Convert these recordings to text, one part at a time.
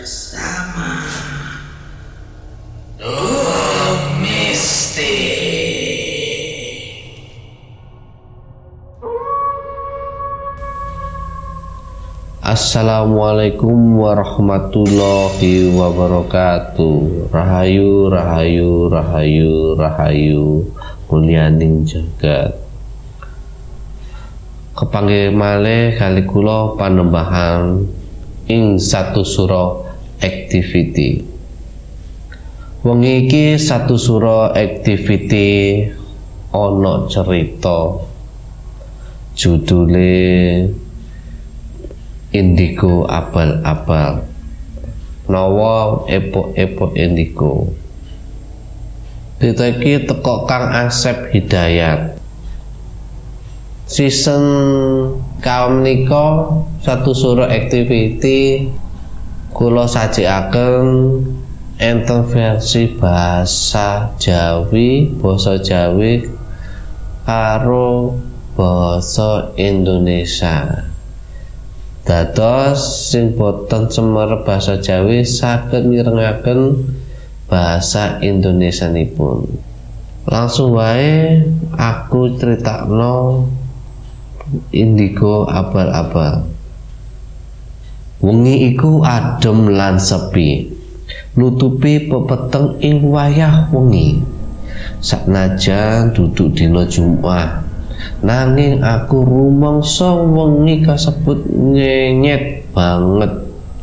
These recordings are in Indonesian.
bersama Mistik. Assalamualaikum warahmatullahi wabarakatuh. Rahayu, rahayu, rahayu, rahayu, mulyaning jagat. Kepanggih malih kali kula panembahan ing satu sura activity. Wengi iki satu sura activity ana cerita judule Indigo Abal-abal, nawa epok-epok indigo. Cerita iki teko Kang Asep Hidayat. Season kaum menika satu sura activity kula sajikaken enten versi basa Jawi karo basa Indonesia. Dados sing boten semer basa Jawi saged mirengaken basa Indonesianipun. Langsung wae aku critakno Indigo Abal-abal. Wengi iku adem lan sepi, nutupi pepeteng ing wayah wengi. Saknajan duduk dina Jumat, nanging aku rumangsa wengi kasebut nyenyet banget.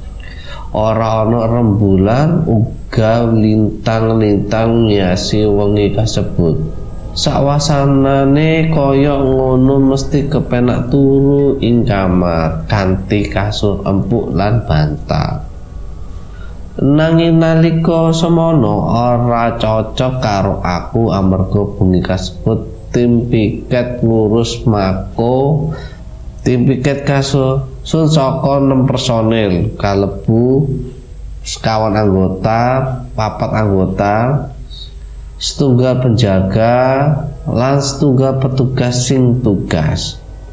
Ora ana rembulan uga lintang-lintang ngiasi wengi kasebut. Sawasanane kaya ngono mesti kepenak turu ing kamar kanthi kasur empuk lan bantal. Nanging nalika semono ora cocok karo aku amarga bengi kasebut tim piket ngurus mako. Tim piket kasusun saka 6 personil kalebu sekawan anggota, 4 anggota, setunggal penjaga lan setunggal petugas sing tugas.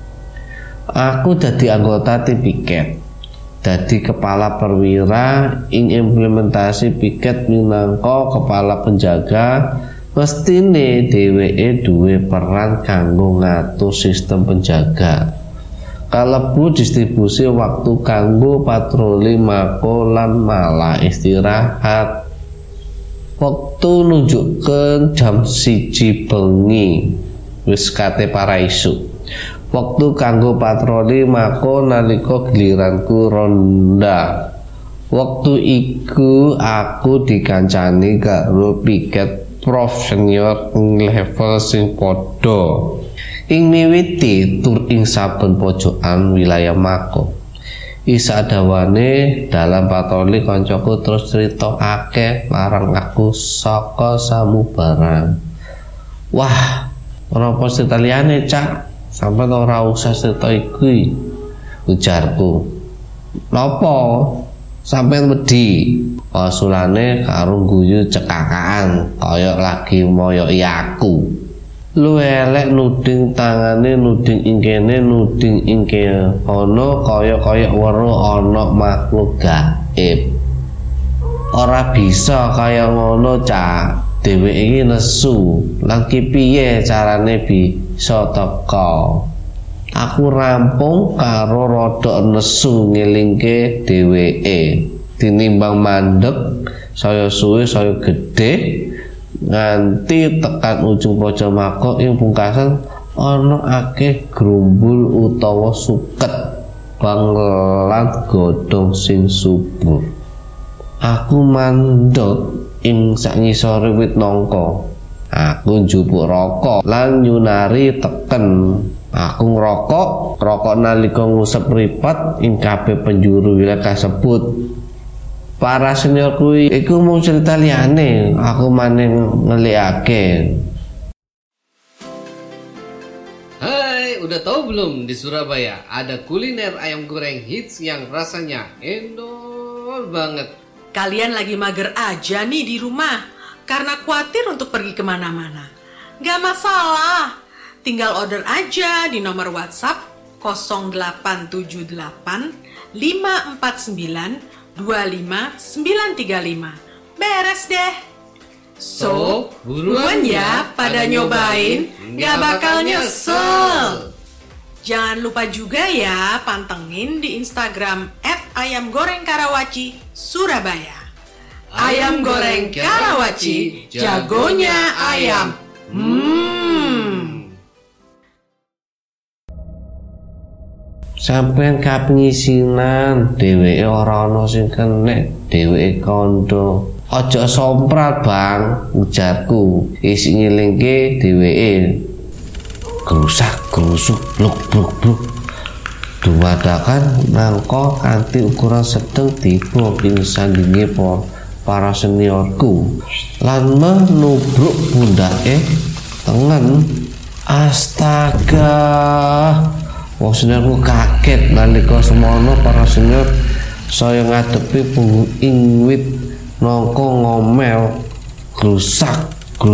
Aku dadi anggota tim piket, dadi kepala perwira ing implementasi piket minangka kepala penjaga. Mestine dheweke duwe peran kanggo ngatur sistem penjaga, kalebu distribusi waktu kanggo patroli mako lan malah istirahat. Waktu nunjukkan jam 1 bengi wis kate para isu. Waktu kanggo patroli mako nalika giliranku ronda. Waktu iku aku dikancani karo piket prof senior level sing padha. Ing miwiti tur ing saben pojokan wilayah mako. Isa dawane dalam patroli koncoku terus cerita akeh marang aku saka samubarang. Wah, ora apa cerita liyane, Cak. Sampeyan ora usah cerita iki, ujarku. Napa? Sampeyan wedi? Osulane karo guyu cekakaan kaya lagi moyoki aku. Lu elek nuding tangane, nuding ing kene, nuding ing kono, kaya weruh ana makhluk gaib. Ora bisa kaya ngono, Cak. Dheweke iki nesu. Lan ki piye carane bisa teka? Aku rampung karo rada nesu ngelingke dheweke. Tinimbang mandeg, saya suwe, saya gedhe, nganti tekan ujung pojok mako ing pungkasan ana akeh grumbul utawa suket banglan godhong sing subur. Aku mandeg ing sakngisore wit nangka. Aku njupuk rokok lan nyunari teken. Aku ngrokok nalika ngusep mripat ing kabeh penjuru wilayah kasebut. Para senior kuwi iku mung cerita liyane, aku maning ngelikake. Hai, udah tahu belum di Surabaya ada kuliner ayam goreng hits yang rasanya endol banget. Kalian lagi mager aja nih di rumah karena khawatir untuk pergi kemana-mana. Gak masalah, tinggal order aja di nomor WhatsApp 0878 549 25935. Beres deh. So, buruan ya pada nyobain, nggak bakal nyesel. Jangan lupa juga ya pantengin di Instagram @ayamgorengkarawaci Surabaya. Ayam goreng Karawaci, jagonya ayam. Sampeyan kaping isinan dheweke ora ana sing kenek, dheweke kandha. Aja somprat, Bang, ujarku. Isi ngilingke dheweke. Gerusak-gerusuk bluk-bluk-bluk. Dumadakan nangka kanthi ukuran sedeng tiba ing sandinge para seniorku lan menubruk pundake tengen. Astaga, wong seniorku kaget nalika semono para senior saya ngadepi punggung ing wit nangka ngomel grusak.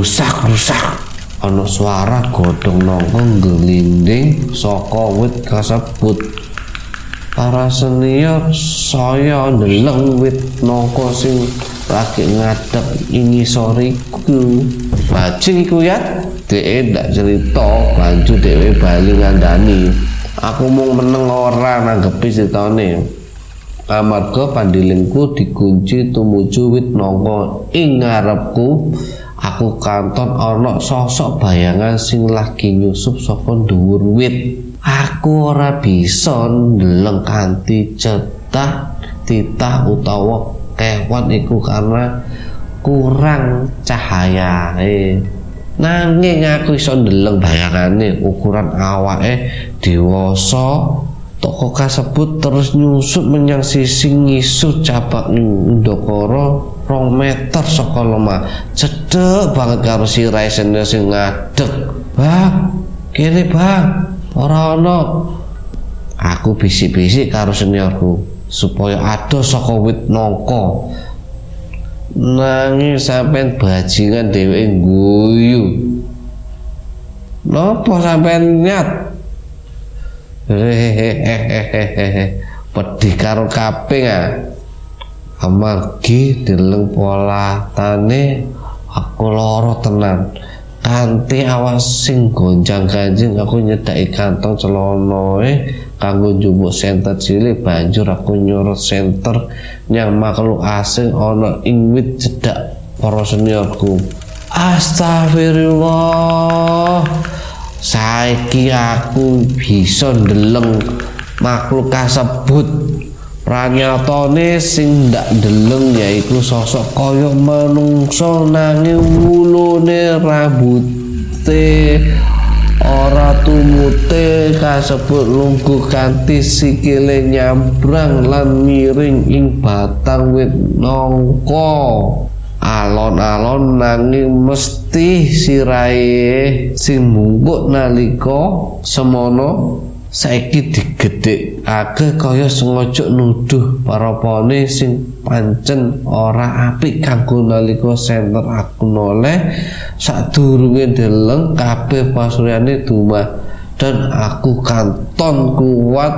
Ana suara godhong nangka nglinding saka wit kasebut. Para senior saya ndeleng wit nangka sing lagi ngadeg ing ngisoriku. Bajing iku ya, dhek ndak cerita, banjur dhewe bali ngandani. Aku mung meneng ora nanggepi critane. Amarga pandilingku dikunci tumuju wit nangka ing ngarepku. Aku kanton ana sosok bayangan sing lagi nyusup saka dhuwur wit. Aku ora bisa ndeleng kanthi cetha titah utawa kewan iku karena kurang cahayae. Nanging aku iso ndeleng bayangane ukuran awake dewasa. Toko kasebut terus nyusup menyang sisi ngisor cabak ndokoro 2 meter saka lemah. Cedhek banget karo sirahe senior sing ngadeg. Bang, kene bang, ora ana. Aku bisik-bisik karo seniorku supaya adoh saka wit nangka. Nanging sampean bajingan dheweke guyu. Napa sampean nyat? Pedih karo kaping amargi deleng polatane aku lara tenan. Kanthi awas sing gonjang-ganjing aku nyedaki kantong celanae kanggo njupuk senter cilik. Banjur aku nyorot senter nyang makhluk asing ana ing wit cedhak para seniorku. Astagfirullah, saiki aku bisa ndeleng makhluk kasebut. Pranyatane sing ndak ndeleng yaiku sosok kaya manungsa nanging wulune rambute ora tumute kasebut lungguh kanthi sikile nyambrang lan miring ing batang wit nangka. Alon-alon nanging mesti sirahe sing mungkuk nalika semono saiki digedhekake kaya sengaja nuduh parapane sing pancen ora apik kanggo nalika senter aku noleh sadurunge ndeleng kabeh pasuryane dumah dan aku kanton kuat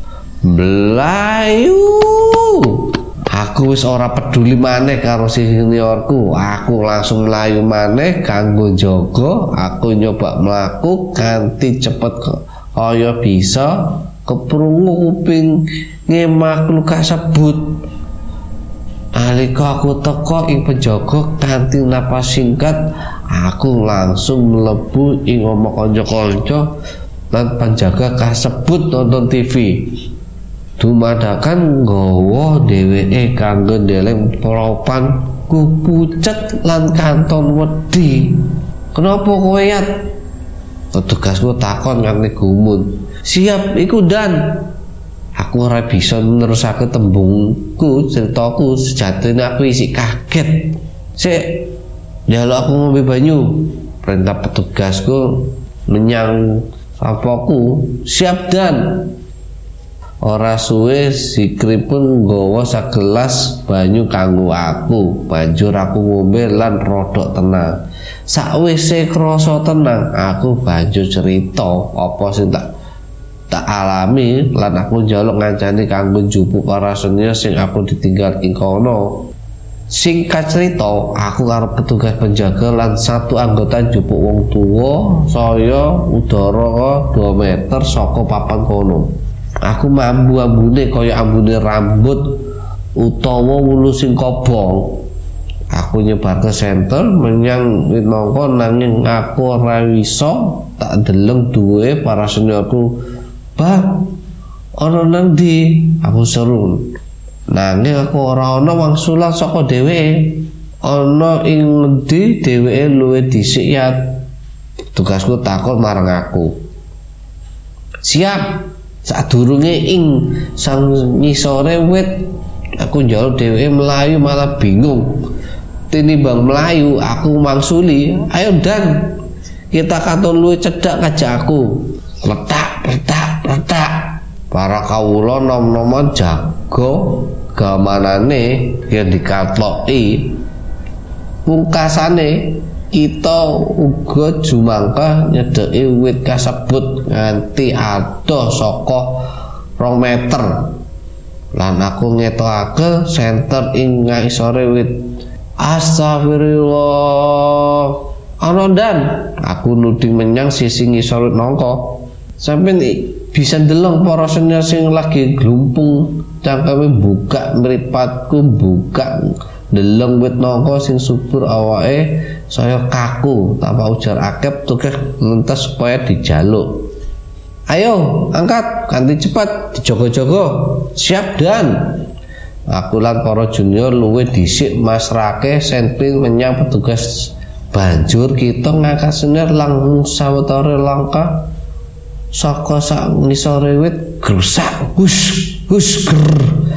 mlayu. Aku wis ora peduli maneh karo seniorku. Aku langsung mlayu maneh kanggo njaga. Aku nyoba mlaku kanthi cepet kaya bisa keprungu kupinge makhluk kasebut. Nalika aku teka ing penjaga kanthi napas singkat, aku langsung mlebu ing omah kanca-kanca lan penjaga kasebut nonton TV. Dumadakan nggawa dheweke kanggo ndeleng propan ku pucet lan kanton wedi. Kenapa kowe yat? Petugasku takon nganti gumun. Siap iku Dan. Aku ora bisa nerusake tembungku, ceritaku sejatine aku isi kaget. Sik, njaluk aku ngombe banyu. Perintah petugasku menyang sapoku. Siap Dan. Ora suwe Sikri pun nggawa sagelas banyu kanggo aku. Banjur aku ngombe lan rodok tenang. Sakwise krasa tenang, aku banjur cerita apa sing tak tak alami lan aku njaluk ngancani kanggo njupuk para senior sing aku ditinggal ing kono. Singkat cerita, aku karo petugas penjaga lan satu anggota njupuk wong tuwa saya udara 2 meter saka papan kono. Aku mambu-ambune kaya ambune rambut utawa wulu sing kobong. Aku nyebar ke senter menyang minangka nanging aku ora iso tak deleng duwe para seniorku. Bang, ana nang ndi? Aku seru. Nanging aku ora ana wangsulan saka dheweke. Ana ing ngendi dheweke luwih dhisik ya? Tugasku takon marang aku. Siap. Sadurunge ing sang ngisore wit aku njaluk dheweke melayu malah bingung. Tinimbang melayu aku mangsuli, ayo Dan, kita katon luwih cedhak kajak aku. Letak. Para kawula nom-noman jago gamanane yen dikatloki. Pungkasane kita uga jumangkah nyedeki wit kasebut nganti adoh saka 2 meter. Lan aku ngetokake senter ing ngisore wit. Astagfirullah. Ana Dan, aku nuding menyang sisi ngisor nangka. Sampeyan bisa ndeleng para senior sing lagi glumpung cangkeme buka mripatku buka ndeleng wit nangka sing subur awake saya kaku tanpa ujar akep tugas lantas supaya dijaluk. Ayo angkat ganti cepat dijogo-jogo. Siap Dan. Aku lan para junior luwih dhisik masrake sentring menyang petugas. Banjur kita ngangkat senior langsung sawetara langkah saka sak ngisore wit gersak hus ger.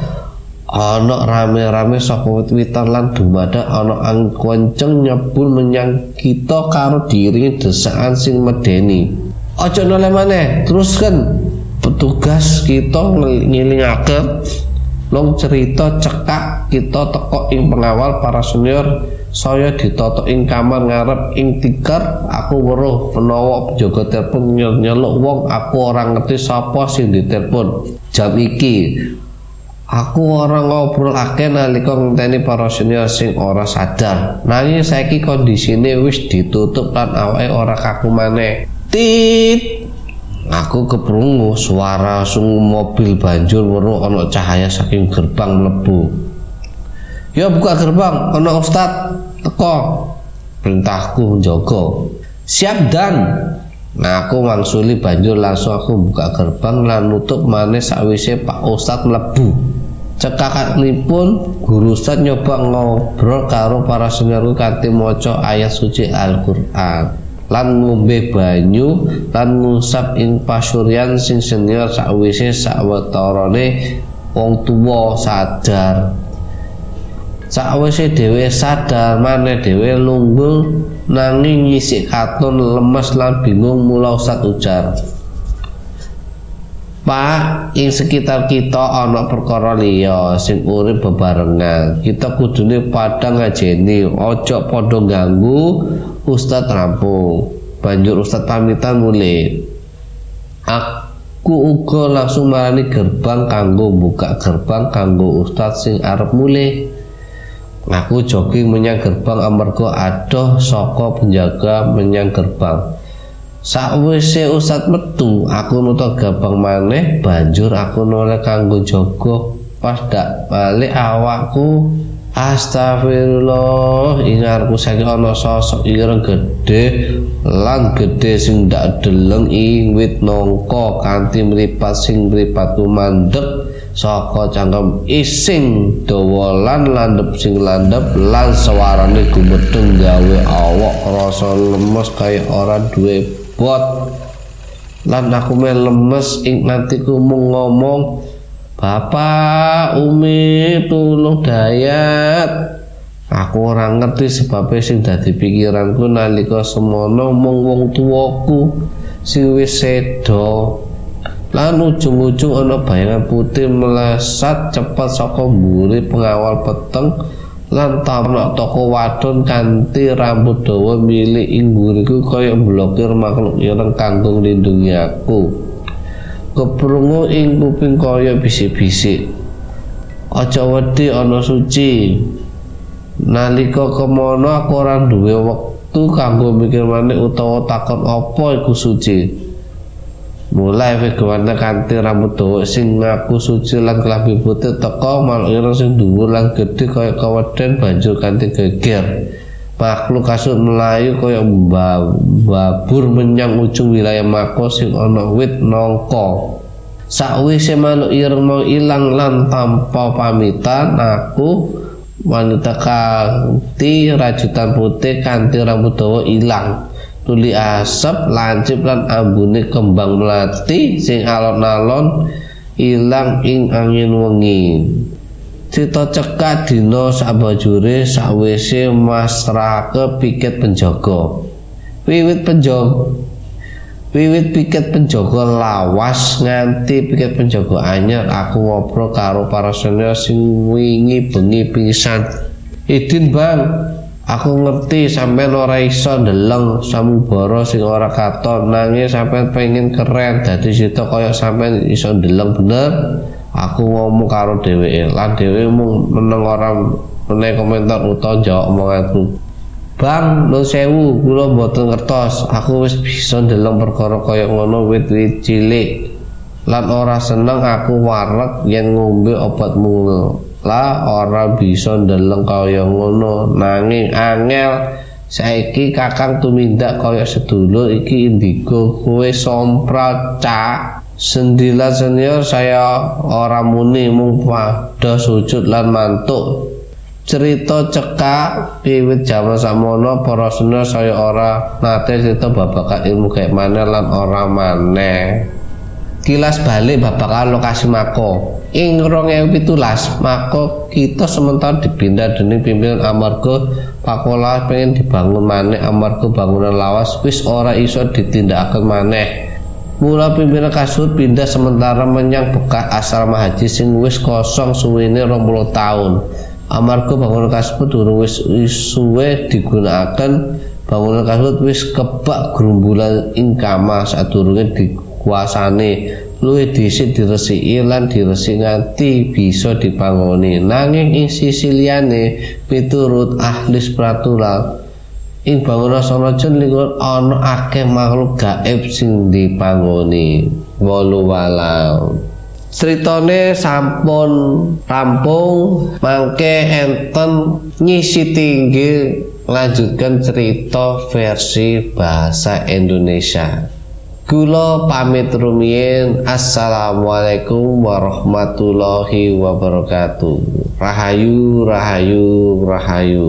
Ana rame-rame saka wit-witan lan dumadak ana angin kenceng nyebul menyang kita karo diiringi desakan sing medeni. Aja noleh maneh, teruskan. Petugas kita ngilingake long cerita cekak kita teko ing pengawal para senior. Saya ditotok ing kamar ngarep ing tikar. Aku weruh menawa penjaga telepon nyeluk wong. Aku ora ngerti sapa sing ditelepon jam iki. Aku ora ngobrol akeh nalika ngenteni para senior sing ora sadar. Nanging saiki kondisine wis ditutup lan awake ora kaku maneh. Tit. Aku keprungu suara sungu mobil banjur weruh ana cahaya saking gerbang mlebu. Ya buka gerbang, ana Ustad teko. Perintahku njaga. Siap Dan. Nah aku mangsuli banjur langsung aku buka gerbang lan nutup maneh sakwise Pak Ustad mlebu. Cekakanipun guru Ustad nyoba ngobrol karo para seniorku kanthi maca ayat suci Al-Qur'an lan ngombe banyu lan ngusap ing pasuryan sing senior sakwise sawetarane wong tuwa sadar. Sakwise dhewe sadar maneh dhewe lunggul nanging nyisik katon lemes lan bingung. Mula Ustad ujar, Pak, ing sekitar kita ana perkara liya sing urip bebarengan. Kita kudune padha ngajeni, aja padha ganggu. Ustad rampung. Banjur Ustad pamitan mulih. Aku uga langsung marani gerbang kanggo buka gerbang kanggo Ustad sing arep mulih. Aku jogging menyang gerbang amarga adoh saka penjaga menyang gerbang. Sakwise Ustad metu, aku nutup gerbang maneh. Banjur aku noleh kanggo jaga. Pas dak balik awakku, astagfirullah, ingarku saiki ana sosok ireng gedhe lan gedhe sing ndak deleng ing wit nangka kanthi mripat sing mripatku mandheg saka cangkem ising dawa lan landhep sing landhep lan suarane gumedheng gawe awak rasa lemes kaya ora duwe bot. Lan aku lemes ing nantiku mung ngomong, Bapak, Umi, tulung dayat. Aku ora ngerti sebab sing dadi pikiranku nalika semono mung wong tuwaku sing wis seda. Lan ujung-ujung ana bayangan putih melesat cepat saka mburi pengawal peteng lan tamrak toko wadon kanthi rambut dawa milik ing mburiku kaya blokir makhluk ireng kanggo nglindungi aku. keprungu ing kuping kaya bisik-bisik. Aja wedi ana suci. Nalika kemono aku ora duwe wektu kanggo mikir maneh utawa takon apa iku suci. Mulai Vegawana kanthi rambut dawa sing ngaku suci lan klambi putih teka makhluk ireng sing dhuwur lan gedhe kaya keweden banjur kanthi geger. Makhluk kasut melayu kaya babur menyang ujung wilayah Mako sing ana wit nangka. Sakwise makhluk ireng mau ilang lan tanpa pamitan, aku wanita kanthi rajutan putih kanthi rambut dawa ilang. Tuli asap lancip lan ambune kembang melati sing alon-alon ilang ing angin wengi. Cita cekak dina sabajure sakwise masrahake piket penjaga. Wiwit piket penjaga lawas nganti piket penjaga anyar, aku ngobrol karo para senior sing wingi bengi pingsan. Idin bang, aku ngerti sampean ora iso ndeleng samubara sing ora katon, nanging sampean pengen keren dadi sita kaya sampean iso ndeleng bener. Aku ngomong karo dheweke, lan dheweke mung meneng ora menehi komentar utawa jawab omonganku. Bang, nuwun sewu, kula mboten ngertos. Aku wis bisa ndeleng perkara kaya ngono wit-wit cilik. Lan ora seneng aku wareg yen ngombe obat mula ora bisa ndeleng kaya ngono. Nanging angel saiki Kakang tumindak kaya sedulur iki indigo kowe sompral cak. Sendila senior saya ora muni mung padha sujud lan mantuk. Cerita cekak wiwit jaman sakmono para senior saya ora nate cerita babagan ilmu gaib maneh lan ora maneh. Kilas balik babagan lokasi Mako. Ing 2017 Mako kita sementara dipindah dening pimpinan amarga pakola pengen dibangun maneh amarga bangunan lawas wis ora iso ditindakaken maneh. Mula pimpinan kasut pindah sementara menyang bekas asrama haji sing wis kosong suwene 20 tahun. Amarga bangunan kasebut durung wis suwe digunakaken, bangunan kasebut wis kebak grumbulan ing kamah sadurunge dikuasani. Luwih dhisik diresiki lan diresik nganti bisa dipangoni. Nanging ing sisi liyane miturut ahli spiritual ing bangunan sanajan lingkungan ana akeh makhluk gaib sing dipangoni. Walau ceritane sampun rampung, mangke enten nyisi tinggi lanjutkan cerita versi bahasa Indonesia. Kula pamit rumiyin. Assalamualaikum warahmatullahi wabarakatuh. Rahayu, rahayu, rahayu.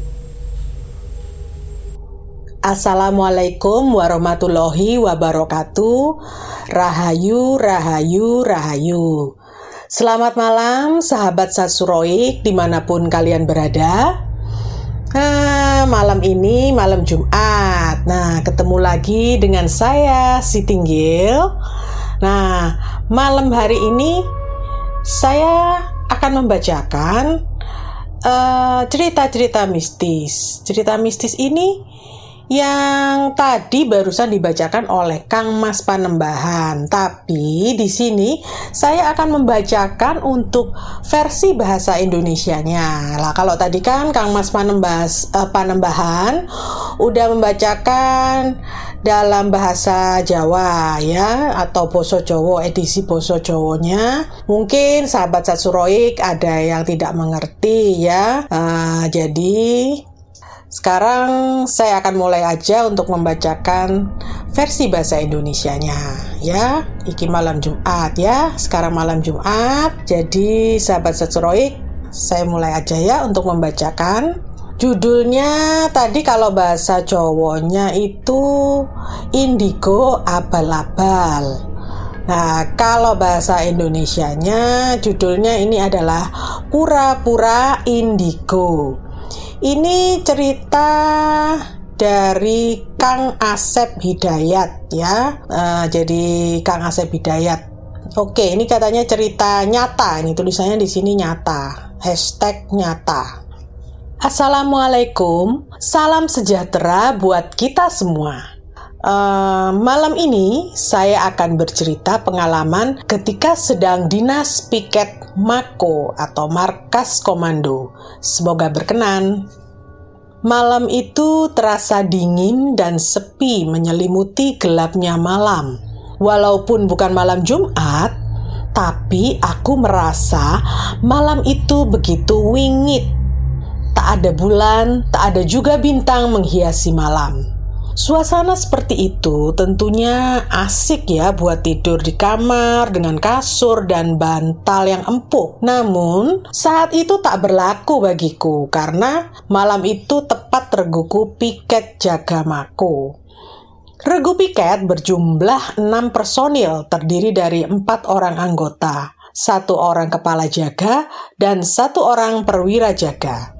Assalamualaikum warahmatullahi wabarakatuh. Rahayu, rahayu, rahayu. Selamat malam sahabat Satsuroik dimanapun kalian berada. Malam ini malam Jumat. Nah, ketemu lagi dengan saya Si Tinggil. Nah, malam hari ini saya akan membacakan cerita-cerita mistis. Cerita mistis ini yang tadi barusan dibacakan oleh Kang Mas Panembahan. Tapi di sini saya akan membacakan untuk versi bahasa Indonesianya. Lah kalau tadi kan Kang Mas Panembahan udah membacakan dalam bahasa Jawa ya, atau Basa Jawa, edisi Basa Jawanya. Mungkin sahabat Satsuroik ada yang tidak mengerti ya. Jadi sekarang saya akan mulai aja untuk membacakan versi bahasa Indonesianya ya. Iki malam Jumat ya. Sekarang malam Jumat. Jadi sahabat Satsuroik, saya mulai aja ya untuk membacakan. Judulnya tadi kalau bahasa Jawanya itu indigo abal-abal. Nah, kalau bahasa Indonesianya judulnya ini adalah pura-pura indigo. Ini cerita dari Kang Asep Hidayat ya. Jadi Kang Asep Hidayat. Oke, ini katanya cerita nyata. Ini tulisannya di sini nyata. #nyata. Assalamualaikum. Salam sejahtera buat kita semua. Malam ini saya akan bercerita pengalaman ketika sedang dinas piket Mako atau markas komando. Semoga berkenan. Malam itu terasa dingin dan sepi menyelimuti gelapnya malam. Walaupun bukan malam Jumat, tapi aku merasa malam itu begitu wingit. Tak ada bulan, tak ada juga bintang menghiasi malam. Suasana seperti itu tentunya asik ya buat tidur di kamar dengan kasur dan bantal yang empuk. Namun saat itu tak berlaku bagiku karena malam itu tepat reguku piket jaga Mako. Regu piket berjumlah 6 personil terdiri dari 4 orang anggota, 1 orang kepala jaga dan 1 orang perwira jaga.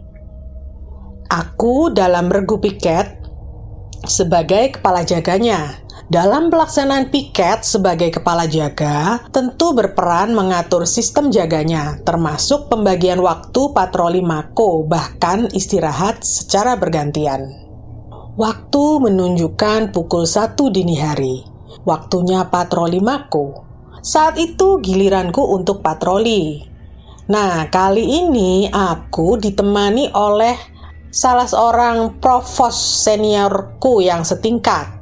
Aku dalam regu piket sebagai kepala jaganya. Dalam pelaksanaan piket sebagai kepala jaga, tentu berperan mengatur sistem jaganya, termasuk pembagian waktu patroli Mako, bahkan istirahat secara bergantian. Waktu menunjukkan pukul 1 dini hari. Waktunya patroli Mako. Saat itu giliranku untuk patroli. Nah, kali ini aku ditemani oleh salah seorang provos seniorku yang setingkat.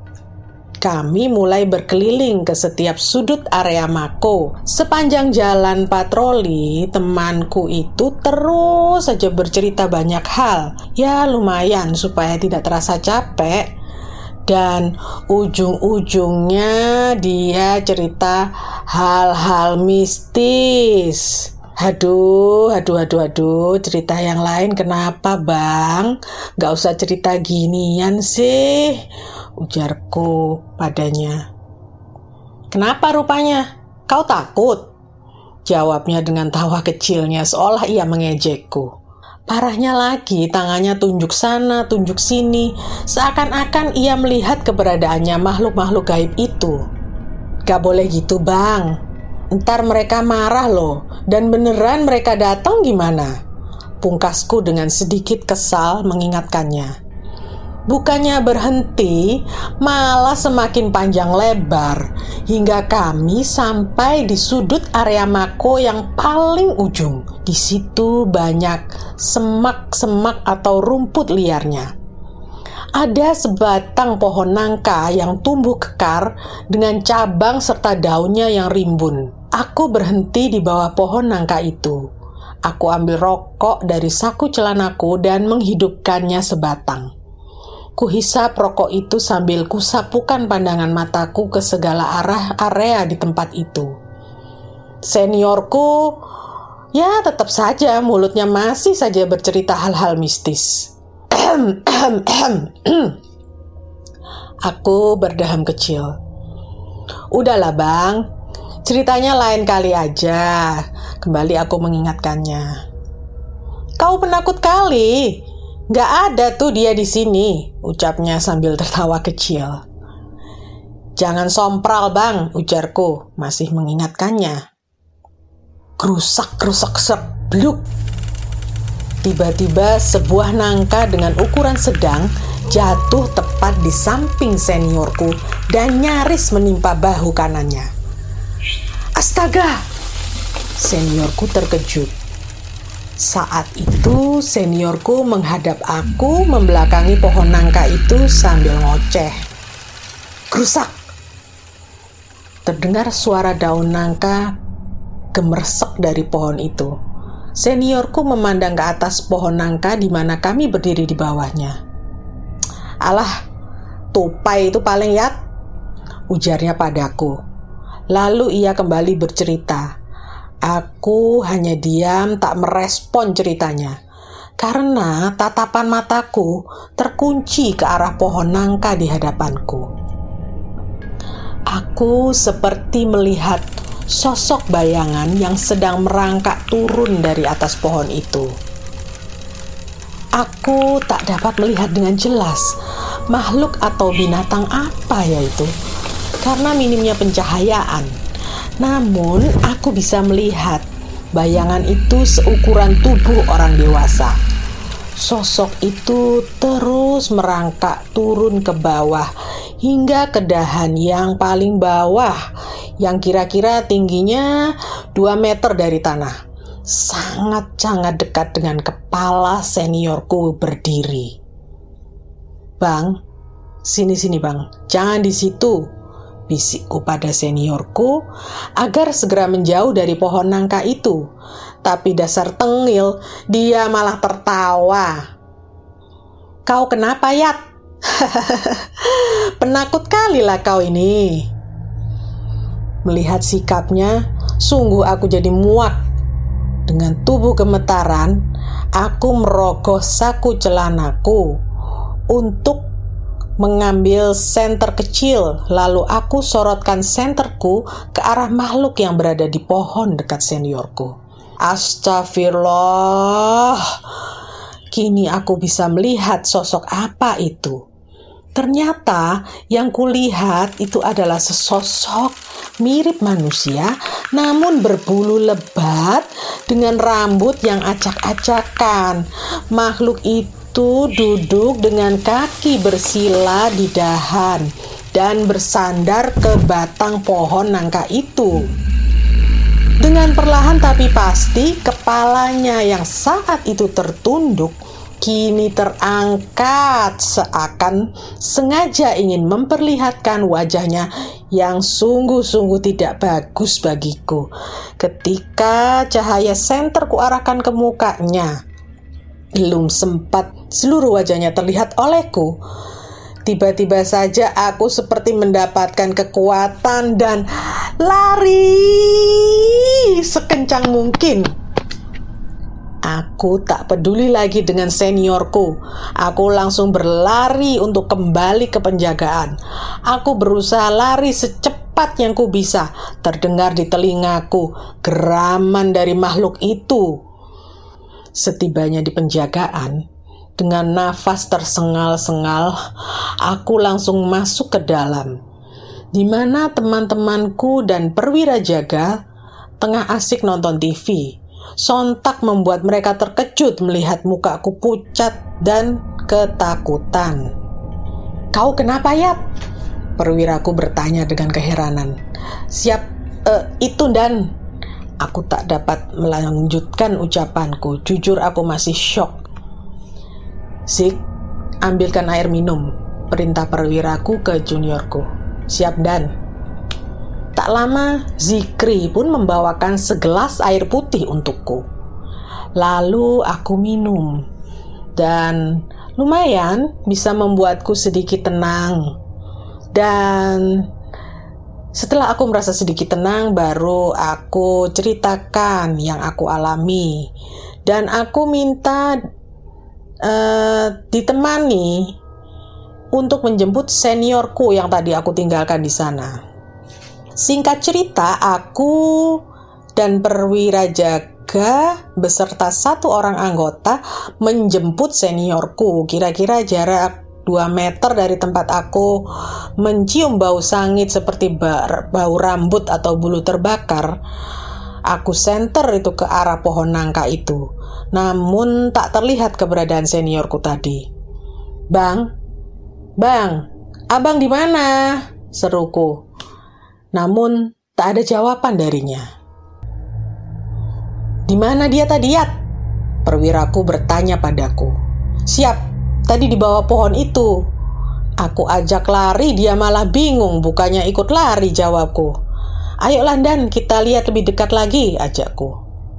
Kami mulai berkeliling ke setiap sudut area Mako. Sepanjang jalan patroli, temanku itu terus saja bercerita banyak hal. Ya lumayan supaya tidak terasa capek. Dan ujung-ujungnya dia cerita hal-hal mistis. Aduh, cerita yang lain kenapa bang? Gak usah cerita ginian sih, ujarku padanya. Kenapa rupanya? Kau takut? Jawabnya dengan tawa kecilnya seolah ia mengejekku. Parahnya lagi, tangannya tunjuk sana, tunjuk sini, seakan-akan ia melihat keberadaannya makhluk-makhluk gaib itu. Gak boleh gitu bang. Ntar mereka marah loh, dan beneran mereka datang gimana? Pungkasku dengan sedikit kesal mengingatkannya. Bukannya berhenti, malah semakin panjang lebar, hingga kami sampai di sudut area Mako yang paling ujung. Di situ banyak semak-semak atau rumput liarnya. Ada sebatang pohon nangka yang tumbuh kekar dengan cabang serta daunnya yang rimbun. Aku berhenti di bawah pohon nangka itu. Aku ambil rokok dari saku celanaku dan menghidupkannya sebatang. Kuhisap rokok itu sambil kusapukan pandangan mataku ke segala area di tempat itu. Seniorku, ya tetap saja mulutnya masih saja bercerita hal-hal mistis. Aku berdaham kecil. Udahlah bang, ceritanya lain kali aja. Kembali aku mengingatkannya. Kau penakut kali. Gak ada tuh dia di sini, ucapnya sambil tertawa kecil. Jangan sompral bang, ujarku, masih mengingatkannya. Kerusak sebluk. Tiba-tiba sebuah nangka dengan ukuran sedang jatuh tepat di samping seniorku dan nyaris menimpa bahu kanannya. Astaga! Seniorku terkejut. Saat itu seniorku menghadap aku membelakangi pohon nangka itu sambil ngoceh. Kerusak! Terdengar suara daun nangka gemersek dari pohon itu. Seniorku memandang ke atas pohon nangka di mana kami berdiri di bawahnya. Alah, tupai itu paling yat, ujarnya padaku. Lalu ia kembali bercerita. Aku hanya diam tak merespon ceritanya. Karena tatapan mataku terkunci ke arah pohon nangka di hadapanku. Aku seperti melihat sosok bayangan yang sedang merangkak turun dari atas pohon itu. Aku tak dapat melihat dengan jelas makhluk atau binatang apa yaitu, karena minimnya pencahayaan. Namun aku bisa melihat bayangan itu seukuran tubuh orang dewasa. Sosok itu terus merangkak turun ke bawah hingga ke dahan yang paling bawah yang kira-kira tingginya 2 meter dari tanah. Sangat-sangat dekat dengan kepala seniorku berdiri. "Bang, sini Bang, jangan di situ," bisikku pada seniorku agar segera menjauh dari pohon nangka itu. Tapi dasar tengil, dia malah tertawa. "Kau kenapa, Yat?" "Penakut kali lah kau ini." Melihat sikapnya, sungguh aku jadi muak. Dengan tubuh gemetaran, aku merogoh saku celanaku untuk mengambil senter kecil, lalu aku sorotkan senterku ke arah makhluk yang berada di pohon dekat seniorku. Astagfirullah, kini aku bisa melihat sosok apa itu. Ternyata yang kulihat itu adalah sesosok mirip manusia, namun berbulu lebat dengan rambut yang acak-acakan. Makhluk itu duduk dengan kaki bersila di dahan dan bersandar ke batang pohon nangka itu. Dengan perlahan tapi pasti, kepalanya yang saat itu tertunduk kini terangkat seakan sengaja ingin memperlihatkan wajahnya yang sungguh-sungguh tidak bagus bagiku. Ketika cahaya senter kuarahkan ke mukanya, belum sempat seluruh wajahnya terlihat olehku, tiba-tiba saja aku seperti mendapatkan kekuatan dan lari sekencang mungkin. Aku tak peduli lagi dengan seniorku. Aku langsung berlari untuk kembali ke penjagaan. Aku berusaha lari secepat yang ku bisa. Terdengar di telingaku geraman dari makhluk itu. Setibanya di penjagaan, dengan nafas tersengal-sengal, aku langsung masuk ke dalam, di mana teman-temanku dan perwira jaga tengah asik nonton TV. Sontak membuat mereka terkejut melihat mukaku pucat dan ketakutan. "Kau kenapa, Yat?" perwiraku bertanya dengan keheranan. Itu Dan." Aku tak dapat melanjutkan ucapanku. Jujur aku masih syok. "Zik, ambilkan air minum," perintah perwiraku ke juniorku. "Siap, Dan." Tak lama, Zikri pun membawakan segelas air putih untukku. Lalu aku minum, dan lumayan bisa membuatku sedikit tenang. Dan setelah aku merasa sedikit tenang, baru aku ceritakan yang aku alami. Dan aku minta ditemani untuk menjemput seniorku yang tadi aku tinggalkan di sana. Singkat cerita, aku dan perwira jaga beserta 1 orang anggota menjemput seniorku. Kira-kira jarak 2 meter dari tempat aku mencium bau sangit seperti bau rambut atau bulu terbakar. Aku senter itu ke arah pohon nangka itu. Namun tak terlihat keberadaan seniorku tadi. Bang, abang di mana?" seruku. Namun tak ada jawaban darinya. "Di mana dia tadi, Yat?" perwiraku bertanya padaku. "Siap, tadi di bawah pohon itu. Aku ajak lari, dia malah bingung, bukannya ikut lari," jawabku. "Ayolah Dan, kita lihat lebih dekat lagi," ajakku.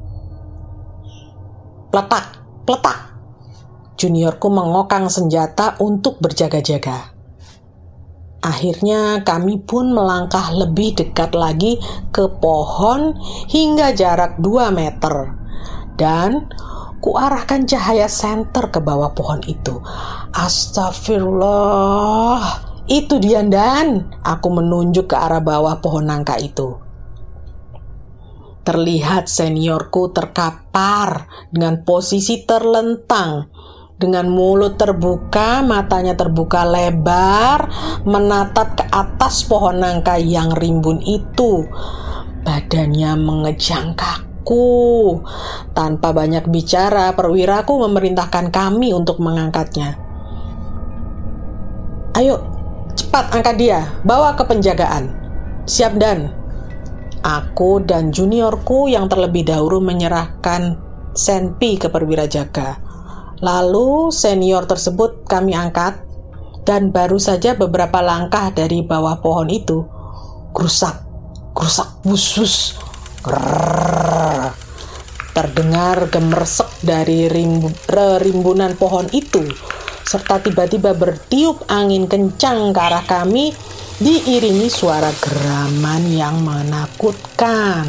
Pletak, pletak. Juniorku mengokang senjata untuk berjaga-jaga. Akhirnya kami pun melangkah lebih dekat lagi ke pohon hingga jarak 2 meter. Dan kuarahkan cahaya senter ke bawah pohon itu. Astagfirullah, itu dia Dan. Aku menunjuk ke arah bawah pohon nangka itu. Terlihat seniorku terkapar dengan posisi terlentang, dengan mulut terbuka, matanya terbuka lebar, menatap ke atas pohon nangka yang rimbun itu. Badannya mengejang kaku. Tanpa banyak bicara, perwiraku memerintahkan kami untuk mengangkatnya. "Ayo, Cepat angkat dia, bawa ke penjagaan. Siap Dan. Aku dan juniorku yang terlebih dahulu menyerahkan Senpi ke perwira jaga. Lalu senior tersebut kami angkat, dan baru saja beberapa langkah dari bawah pohon itu, gerusak, wus. Terdengar gemersek dari rimbunan pohon itu, serta tiba-tiba bertiup angin kencang ke arah kami, diiringi suara geraman yang menakutkan.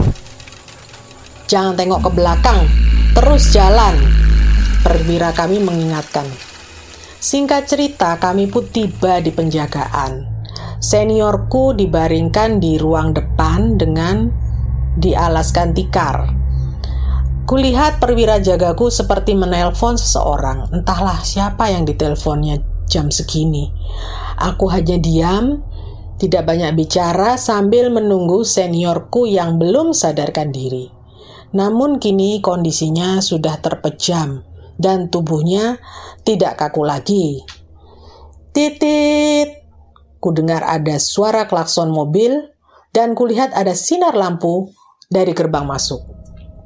Jangan tengok ke belakang, terus jalan, perwira kami mengingatkan. Singkat cerita, kami pun tiba di penjagaan. Seniorku dibaringkan di ruang depan dengan dialaskan tikar. Kulihat perwira jagaku seperti menelpon seseorang. Entahlah siapa yang diteleponnya jam segini. Aku hanya diam, tidak banyak bicara sambil menunggu seniorku yang belum sadarkan diri. Namun kini kondisinya sudah terpejam dan tubuhnya tidak kaku lagi. Titit, ku dengar ada suara klakson mobil dan kulihat ada sinar lampu dari gerbang masuk.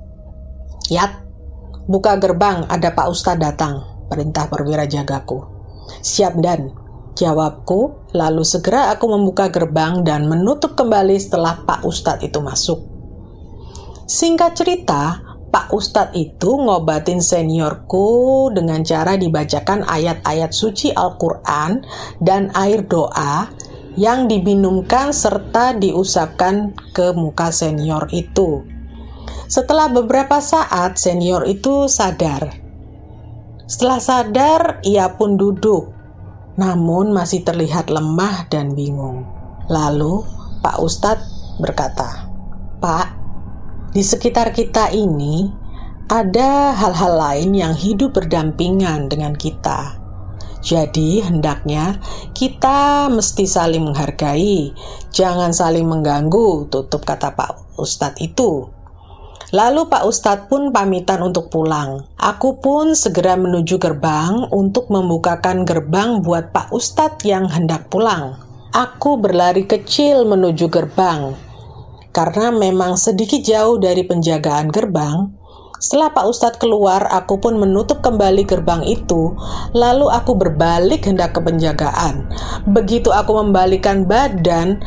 Yat, buka gerbang, ada Pak Ustadz datang, perintah perwira jagaku. Siap Dan, jawabku, lalu segera aku membuka gerbang dan menutup kembali setelah Pak Ustadz itu masuk. Singkat cerita, Pak Ustadz itu ngobatin seniorku dengan cara dibacakan ayat-ayat suci Al-Quran dan air doa yang diminumkan serta diusapkan ke muka senior itu. Setelah beberapa saat, senior itu sadar. Setelah sadar, ia pun duduk, namun masih terlihat lemah dan bingung. Lalu, Pak Ustadz berkata, "Pak, di sekitar kita ini ada hal-hal lain yang hidup berdampingan dengan kita. Jadi, hendaknya kita mesti saling menghargai, jangan saling mengganggu," tutup kata Pak Ustadz itu. Lalu Pak Ustadz pun pamitan untuk pulang. Aku pun segera menuju gerbang untuk membukakan gerbang buat Pak Ustadz yang hendak pulang. Aku berlari kecil menuju gerbang. Karena memang sedikit jauh dari penjagaan gerbang, setelah Pak Ustadz keluar, aku pun menutup kembali gerbang itu, lalu aku berbalik hendak ke penjagaan. Begitu aku membalikkan badan,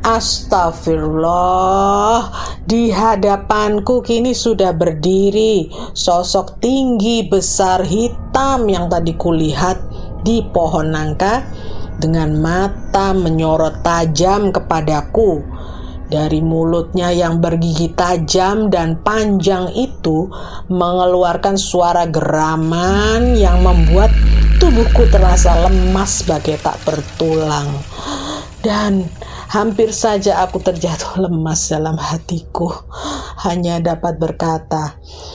astagfirullah, di hadapanku kini sudah berdiri sosok tinggi besar hitam yang tadi kulihat di pohon nangka dengan mata menyorot tajam kepadaku. Dari mulutnya yang bergigi tajam dan panjang itu mengeluarkan suara geraman yang membuat tubuhku terasa lemas bagai tak bertulang. Dan hampir saja aku terjatuh lemas dalam hatiku. Hanya dapat berkata,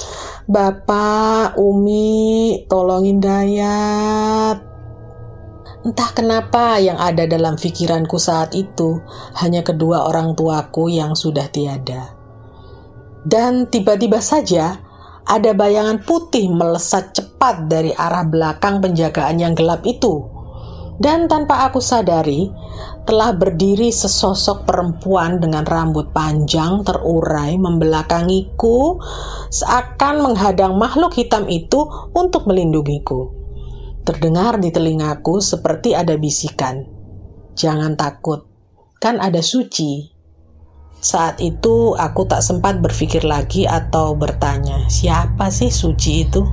"Bapak, Umi, tolongin Dayat." Entah kenapa yang ada dalam pikiranku saat itu hanya kedua orang tuaku yang sudah tiada. Dan tiba-tiba saja ada bayangan putih melesat cepat dari arah belakang penjagaan yang gelap itu. Dan tanpa aku sadari, telah berdiri sesosok perempuan dengan rambut panjang terurai membelakangiku seakan menghadang makhluk hitam itu untuk melindungiku. Terdengar di telingaku seperti ada bisikan, "Jangan takut, kan ada Suci." Saat itu aku tak sempat berpikir lagi atau bertanya, siapa sih Suci itu?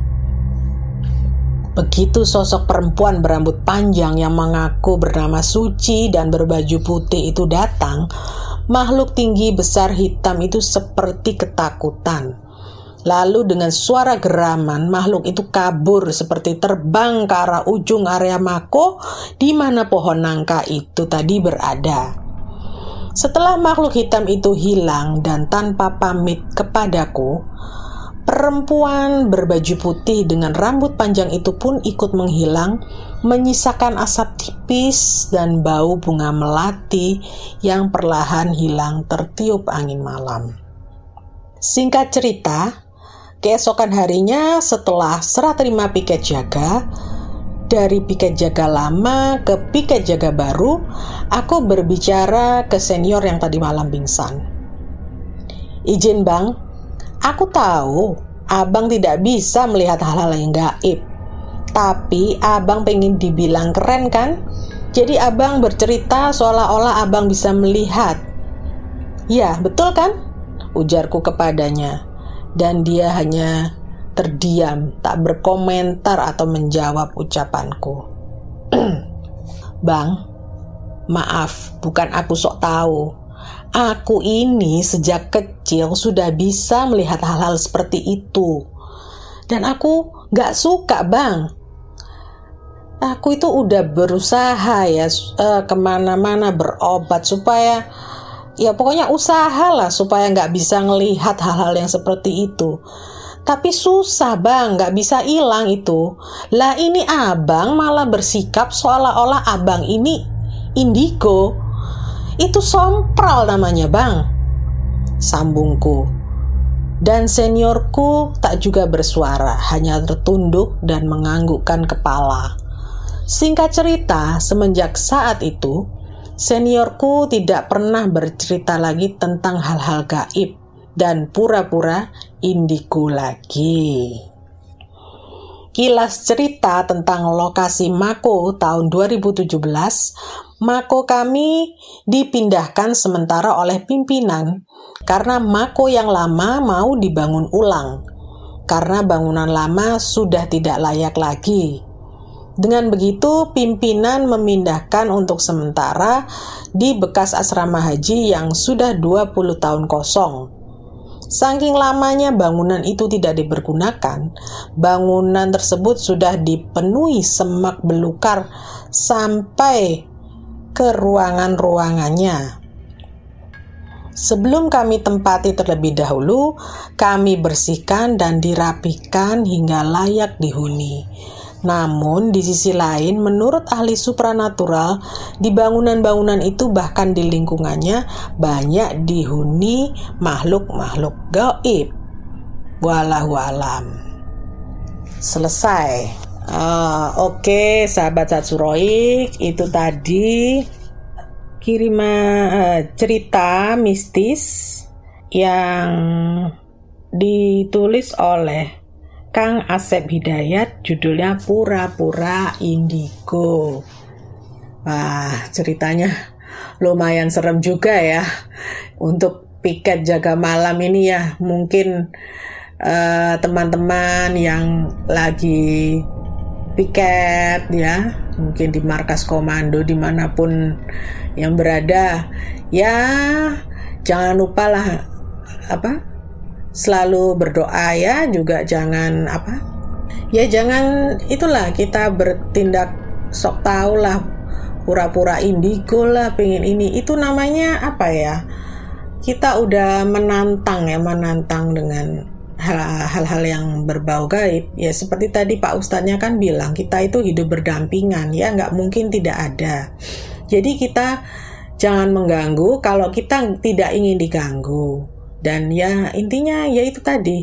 Begitu sosok perempuan berambut panjang yang mengaku bernama Suci dan berbaju putih itu datang, makhluk tinggi besar hitam itu seperti ketakutan. Lalu dengan suara geraman, makhluk itu kabur seperti terbang ke arah ujung area mako di mana pohon nangka itu tadi berada. Setelah makhluk hitam itu hilang dan tanpa pamit kepadaku, perempuan berbaju putih dengan rambut panjang itu pun ikut menghilang, menyisakan asap tipis dan bau bunga melati yang perlahan hilang tertiup angin malam. Singkat cerita, keesokan harinya setelah serah terima piket jaga, dari piket jaga lama ke piket jaga baru, aku berbicara ke senior yang tadi malam pingsan. Izin bang, aku tahu abang tidak bisa melihat hal-hal yang gaib. Tapi abang pengen dibilang keren kan? Jadi abang bercerita seolah-olah abang bisa melihat. Ya, betul kan? Ujarku kepadanya. Dan dia hanya terdiam, tak berkomentar atau menjawab ucapanku. Bang, maaf, bukan aku sok tahu. Aku ini sejak kecil sudah bisa melihat hal-hal seperti itu. Dan aku gak suka bang. Aku itu udah berusaha ya kemana-mana berobat supaya ya pokoknya usahalah supaya gak bisa ngelihat hal-hal yang seperti itu. Tapi susah bang, gak bisa hilang itu. Lah ini abang malah bersikap seolah-olah abang ini indigo. Itu sompral namanya bang, sambungku. Dan seniorku tak juga bersuara, hanya tertunduk dan menganggukkan kepala. Singkat cerita, semenjak saat itu, seniorku tidak pernah bercerita lagi tentang hal-hal gaib dan pura-pura indigo lagi. Kilas cerita tentang lokasi Mako tahun 2017, Mako kami dipindahkan sementara oleh pimpinan karena Mako yang lama mau dibangun ulang, karena bangunan lama sudah tidak layak lagi. Dengan begitu, pimpinan memindahkan untuk sementara di bekas asrama haji yang sudah 20 tahun kosong. Saking lamanya bangunan itu tidak dipergunakan, bangunan tersebut sudah dipenuhi semak belukar sampai ke ruangan-ruangannya. Sebelum kami tempati terlebih dahulu, kami bersihkan dan dirapikan hingga layak dihuni. Namun di sisi lain, menurut ahli supranatural, di bangunan-bangunan itu bahkan di lingkungannya banyak dihuni makhluk-makhluk gaib. Wallahu alam. Selesai. Oke, sahabat Satsuroik, itu tadi kiriman cerita mistis yang ditulis oleh Kang Asep Hidayat, judulnya Pura-Pura Indigo. Wah, ceritanya lumayan serem juga ya. Untuk piket jaga malam ini ya, mungkin teman-teman yang lagi piket ya, mungkin di markas komando dimanapun yang berada, ya jangan lupa lah selalu berdoa ya, juga jangan jangan itulah kita bertindak sok tahu lah, pura-pura indigo lah, pengen ini itu namanya kita udah menantang dengan hal-hal yang berbau gaib ya. Seperti tadi Pak Ustadznya kan bilang, kita itu hidup berdampingan ya, nggak mungkin tidak ada. Jadi kita jangan mengganggu kalau kita tidak ingin diganggu. Dan ya intinya ya itu tadi,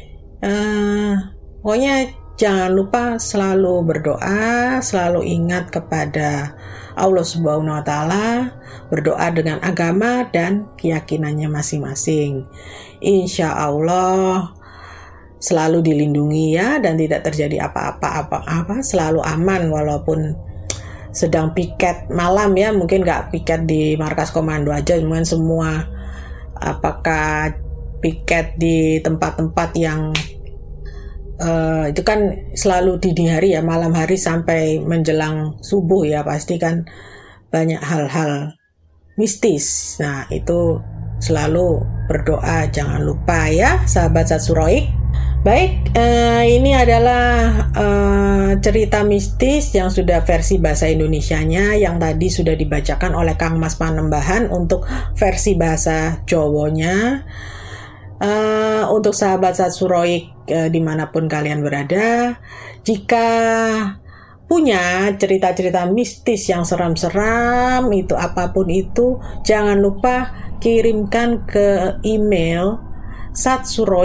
pokoknya jangan lupa selalu berdoa, selalu ingat kepada Allah Subhanahu wa Ta'ala, berdoa dengan agama dan keyakinannya masing-masing. Insya Allah selalu dilindungi ya, dan tidak terjadi apa-apa, selalu aman walaupun sedang piket malam ya, mungkin nggak piket di markas komando aja, mungkin semua. Apakah piket di tempat-tempat yang itu kan selalu dini hari ya, malam hari sampai menjelang subuh ya, pasti kan banyak hal-hal mistis. Nah itu selalu berdoa, jangan lupa ya sahabat Satsuroik. Baik, ini adalah cerita mistis yang sudah versi bahasa Indonesianya, yang tadi sudah dibacakan oleh Kang Mas Panembahan. Untuk versi bahasa Jawanya, untuk sahabat Satsuroik dimanapun kalian berada, jika punya cerita-cerita mistis yang seram-seram itu, apapun itu, jangan lupa kirimkan ke email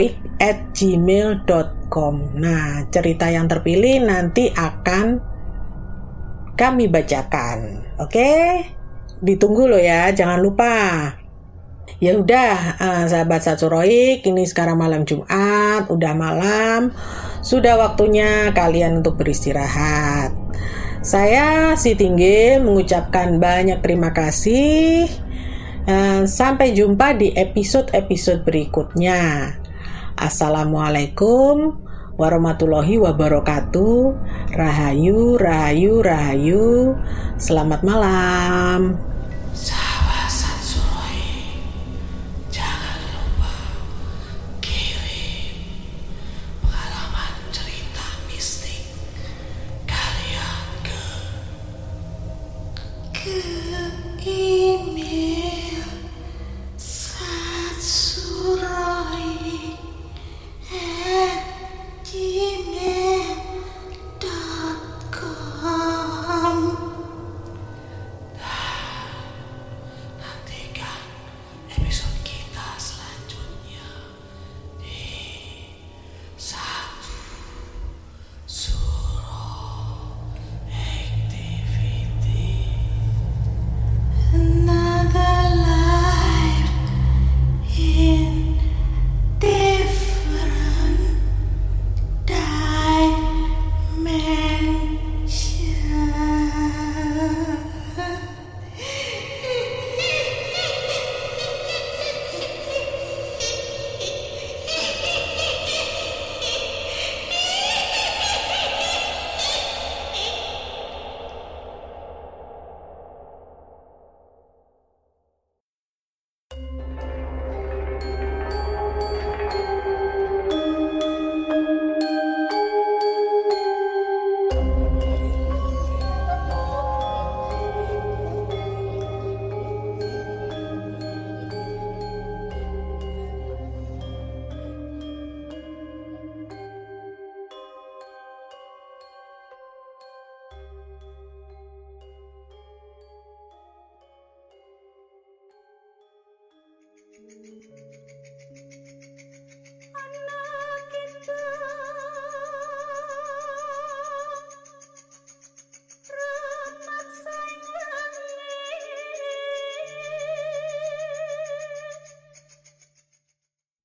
satsuroik@gmail.com. Nah, cerita yang terpilih nanti akan kami bacakan. Oke? Ditunggu loh ya, jangan lupa. Ya udah, sahabat Satsuroik, ini sekarang malam Jumat, udah malam, sudah waktunya kalian untuk beristirahat. Saya si Tinggil mengucapkan banyak terima kasih. Sampai jumpa di episode-episode berikutnya. Assalamualaikum warahmatullahi wabarakatuh. Rahayu, rahayu, rahayu. Selamat malam. Sahabat Satsuroik, jangan lupa kirim pengalaman cerita mistik kalian ke